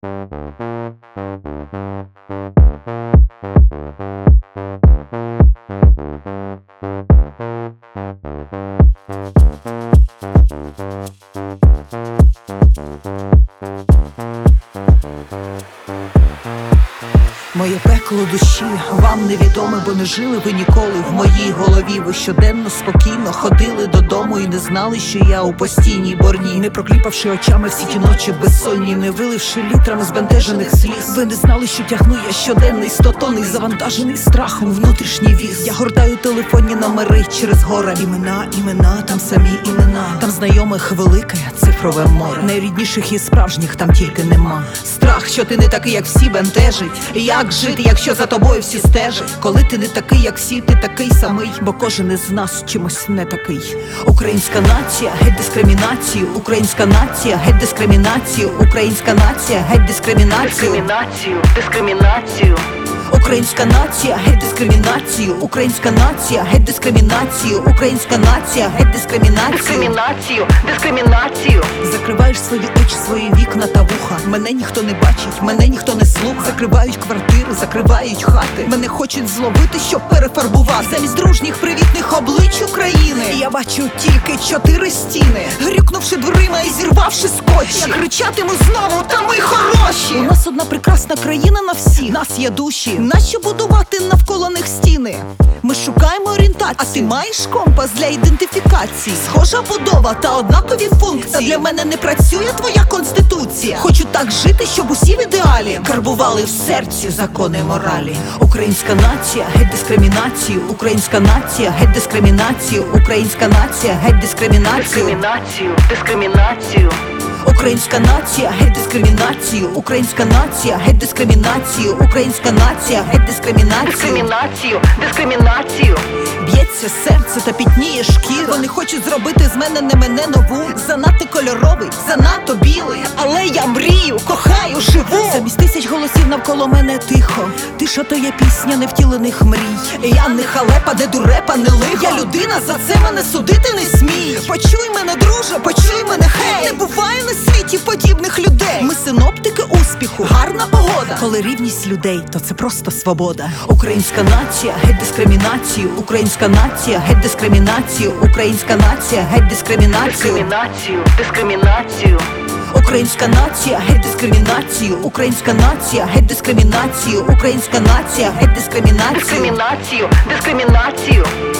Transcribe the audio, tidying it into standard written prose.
Моє пекло душі вам невідоме, бо не жили ви ніколи в моїй голові. Ви щоденно спокійно ходили додому і не знали, що я у постійній борні. Не прокліпавши очами всі ті ночі безсонні, не виливши літрами збентежених сліз. Ви не знали, що тягну я щоденний 100-тонний, завантажений страхом внутрішній віз. Я гортаю телефонні номери через гора. Імена, там самі імена. Там знайомих велике цифрове море. Найрідніших і справжніх там тільки нема. Страх, що ти не такий, як всі, бентежить. Як жити, якщо за тобою всі стежать? Коли ти не такий, як всі, ти такий самий, бо кожен із нас чимось не такий. Українська нація, геть дискримінацію. Українська нація, геть дискримінацію. Українська нація, геть дискримінацію. Дискримінацію. Українська нація, геть дискримінацію. Українська нація, геть дискримінацію. Українська нація, геть дискримінацію. Дискримінацію. Закриваєш свої очі, свої вікна та вуха. Мене ніхто не бачить, мене ніхто не слухає. Закривають квартири, закривають хати. Мене хочуть зловити, щоб перефарбувати. Замість дружніх привітних облич України я бачу тільки 4 стіни. Грюкнувши дверима і зірвавши скотчі, я кричатиму знову: та ми хороші! У нас одна прекрасна країна на всіх. Нас є душі. Нащо будувати навколо них стіни? Ми шукаємо орієнтацію. А ти маєш компас для ідентифікації? Схожа будова та однакові функції. Та для мене не працює твоя конституція. Хочу так жити, щоб усі в ідеалі карбували в серці закони моралі. Українська нація, геть дискримінацію. Українська нація, геть дискримінацію. Українська нація, геть дискримінацію. Дискримінацію. Українська нація, геть дискримінацію. Українська нація, геть дискримінацію. Українська нація, геть дискримінацію. Дискримінацію. Б'ється серце та пітніє шкіра. Вони хочуть зробити з мене не мене нову. Занадто кольоровий, занадто білий. Але я мрію, кохаю, живу. Замість тисяч голосів навколо мене тихо. Тиша то є пісня невтілених мрій. Я не халепа, не дурепа, не лихо. Я людина, за це мене судити не смій. Почуй мене, друже, почуй мене, хей. Не буває на світі подібних людей. Ми синоптики успіху, гарна погода. Коли рівність людей, то це просто свобода. Українська нація, геть дискримінацію. Українська нація, геть дискримінацію. Українська нація, геть дискримінацію. Дискримінацію. Українська нація, геть дискримінацію. Українська нація, геть дискримінацію. Українська нація, геть дискримінацію. Дискримінацію.